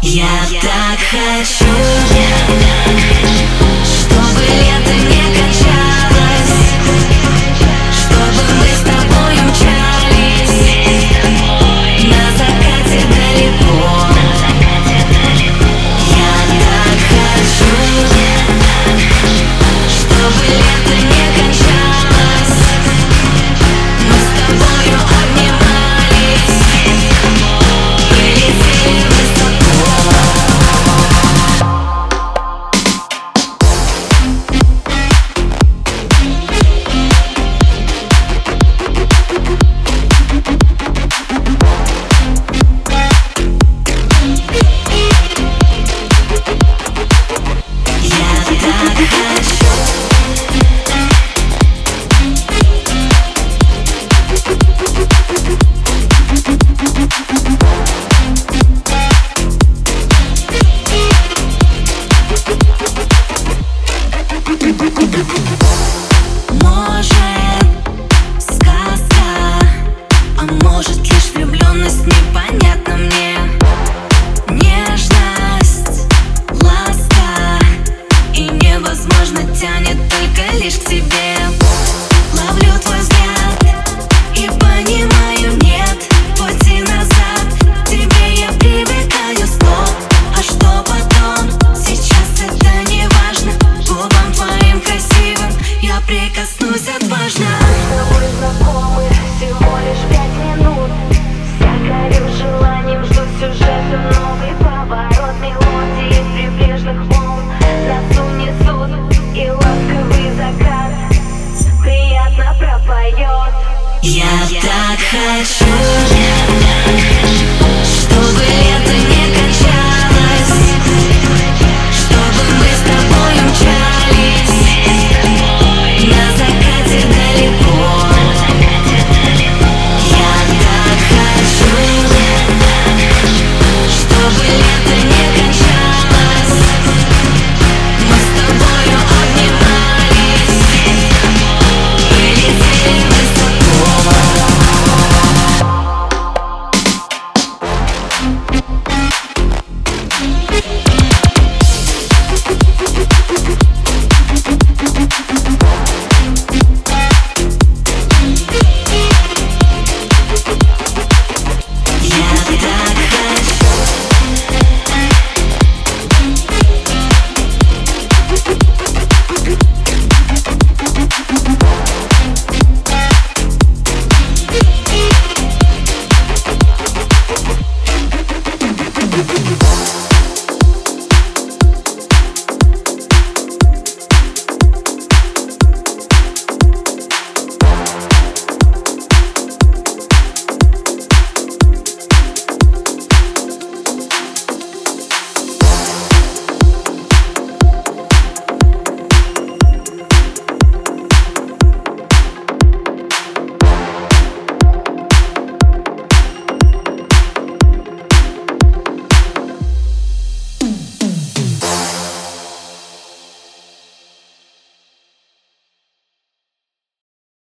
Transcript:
Я так хочу, чтобы лето не кончалось, чтобы мы с тобой умчались на закате далеко. Я так хочу, чтобы лето не кончалось, мы с тобою обнимались и летели высоко. Может, сказка, а может лишь влюбленность, непонятно мне. Нежность, ласка, и невозможно тянет только лишь к тебе. Ловлю твой взгляд и понимаю, нет пути назад. К тебе я привыкаю, стоп, а что потом? Сейчас это не важно, губам твоим красивым я прикоснусь отважно. Мы с тобой знакомы всего лишь 5 минут. Вся горю желанием, жду сюжета, новый поворот. Мелодии прибрежных волн нас унесут, и ласковый закат приятно пропоет. Я так хочу,